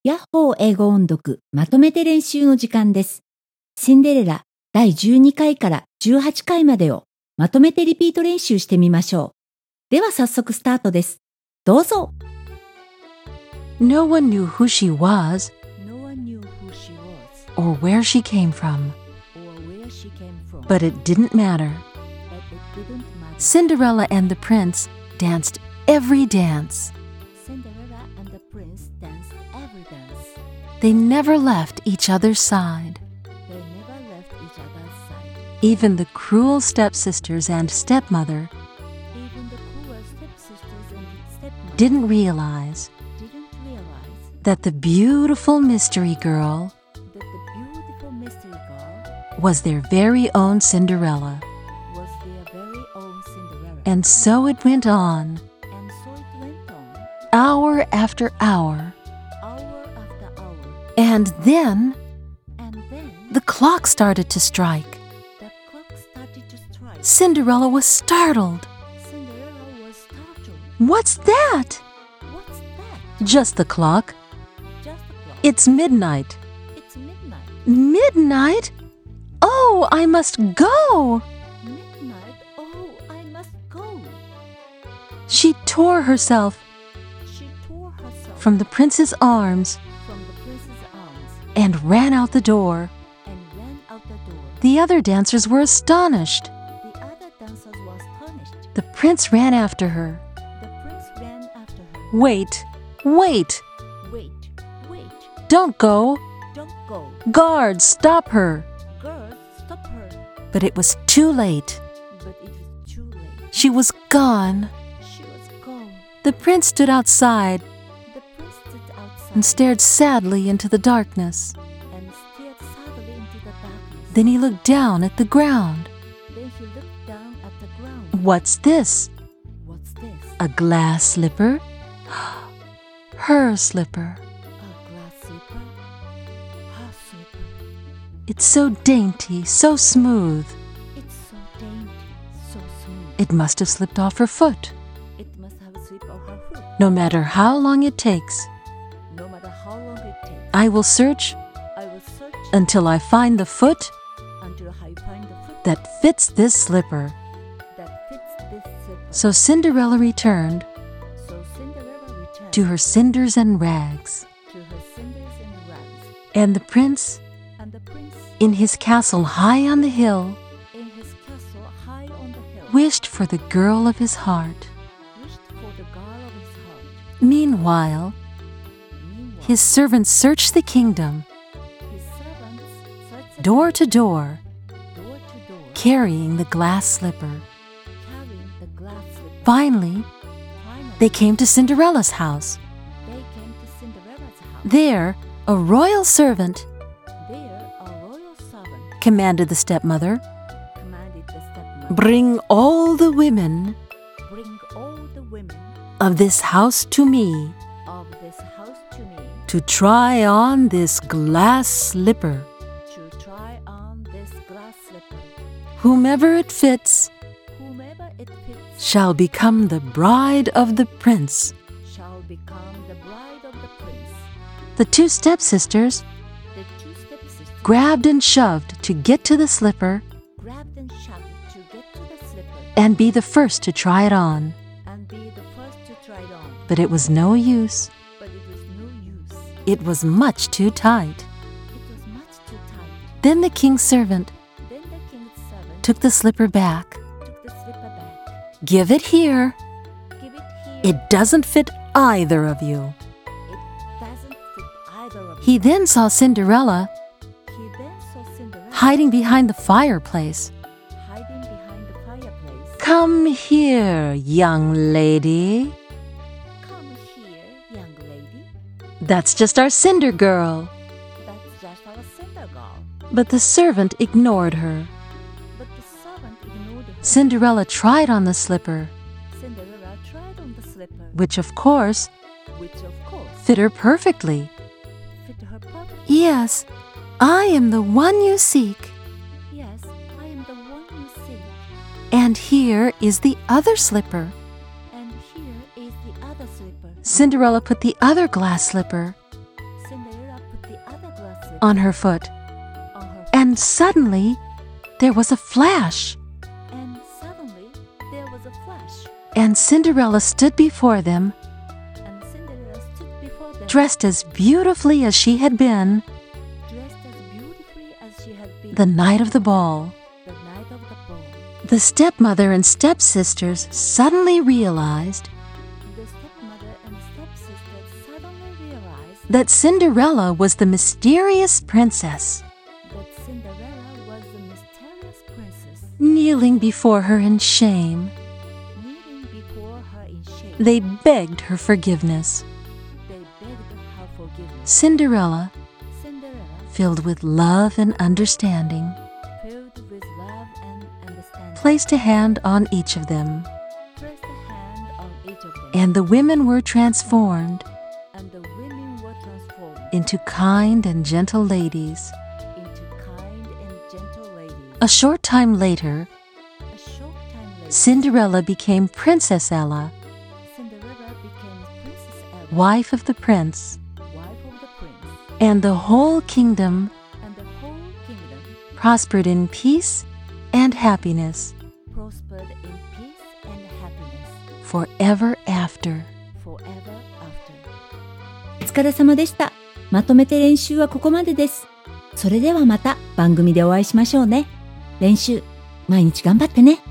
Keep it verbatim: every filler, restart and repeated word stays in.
ヤッホー英語音読まとめて練習の時間です。シンデレラだいじゅうにかいからじゅうはちかいまでをまとめてリピート練習してみましょう。では早速スタートです。どうぞ。 No one knew who she was No one knew who she was or where she came from, or where she came from, but it didn't matter. but it didn't matter. Cinderella and the prince danced every dance. Cinderella and the prince danced every dance. They never left each other's side. They never left each other's side. Even the cruel stepsisters and stepmother Even the cruel stepsisters and stepmother didn't realize didn't realize that the beautiful mystery girl that the beautiful mystery girl was their very own Cinderella. was their very own Cinderella. And so it went on, And so it went on, hour after hour. hour after hour. And then And then the clock started to strike. the clock started to strike. Cinderella was startled. Cinderella was startled. What's that? What's that? Just the clock. Just the clock. It's midnight. It's midnight. Midnight? Oh, I must go. Midnight? Oh, I must go. She tore herself She tore herself from the prince's arms from the prince's arms and ran out the door. and ran out the door. The other dancers were astonished. The other dancers were astonished. The prince ran after her. The prince ran after her. Wait, wait, Wait, wait, don't go. don't go. Guards, stop her. Girls, stop her. But it was too late. But it was too late. She was gone. She was gone. The prince stood outside The prince stood outside and stared sadly into the darkness. and stared sadly into the darkness. Then he looked down at the ground. Then he looked down at the ground. What's this? What's this? A glass slipper? Her slipper. A glass slipper? Her slipper. It's so dainty, so smooth. It's so dainty, so smooth. It must have slipped off her foot. It must have slipped off her foot. No matter how long it takes, No matter how long it takes, I will search I will search until I find the foot until I find the foot that fits this slipper. that fits this slipper. So Cinderella returned So Cinderella returned to her cinders and rags. to her cinders and rags, And the prince, and the prince, in his castle high on the hill, in his castle high on the hill, wished for the girl of his heart. wished for the girl of his heart. Meanwhile, Meanwhile, his servants searched the kingdom, his servants searched the door to door, door to door, carrying the glass slipper. carrying the glass slipper. Finally, Finally, they came to Cinderella's house. they came to Cinderella's house. There, a royal servant There, a royal servant commanded the stepmother, commanded the stepmother, "Bring all the women bring all the women of this house to me of this house to me to try on this glass slipper. to try on this glass slipper. Whomever it fits Whomever it fits shall become the bride of the prince." shall become the bride of the prince. The two stepsisters The two stepsisters grabbed and shoved to get to the slipper grabbed and shoved to get to the slipper and be the first to try it on. and be the first to try it on. But it was no use. But it was no use. It was much too tight. It was much too tight. Then the king's servant Then the king's servant took the slipper back. took the slipper back. "Give it here. Give it here. It doesn't fit either of you." It doesn't fit either of He you. then saw Cinderella He then saw Cinderella hiding behind the fireplace. hiding behind the fireplace. "Come here, young lady. Come here, young lady. That's just our Cinder girl." That's just our Cinder girl. But the servant ignored her. But the servant ignored her. Cinderella tried on the slipper, Cinderella tried on the slipper, which of course which of course fit her perfectly. fit her perfectly. "Yes, I am the one you seek. Yes, I am the one you see. And here is the other slipper." And here is the other slipper. Cinderella put the other glass slipper Cinderella on her foot. on her And suddenly, there was a flash, and suddenly there was a flash, and Cinderella stood before them, and Cinderella stood before them, dressed as beautifully as she had been dressed as beautifully as she had been the night of the ball. the night of the ball. The stepmother and stepsisters suddenly realized The stepmother and stepsister suddenly realized that Cinderella was the mysterious princess, that Cinderella was the mysterious princess, kneeling before her in shame. kneeling before her in shame. They begged her forgiveness. They begged her forgiveness. Cinderella, Cinderella, filled with love and understanding, filled with love and understanding, placed a hand on each of them, pressed a hand on each of them, and the women were transformed and the women were transformed into kind and gentle ladies. into kind and gentle ladies. A short time later, A short time later, Cinderella became Princess Ella, Cinderella became Princess Ella, wife of the prince, wife of the prince, and the whole kingdom and the whole kingdom prospered in peace and happiness prospered in peace and happiness forever after. forever after. お疲れ様でした。まとめて練習はここまでです。それではまた番組でお会いしましょうね。練習、毎日頑張ってね。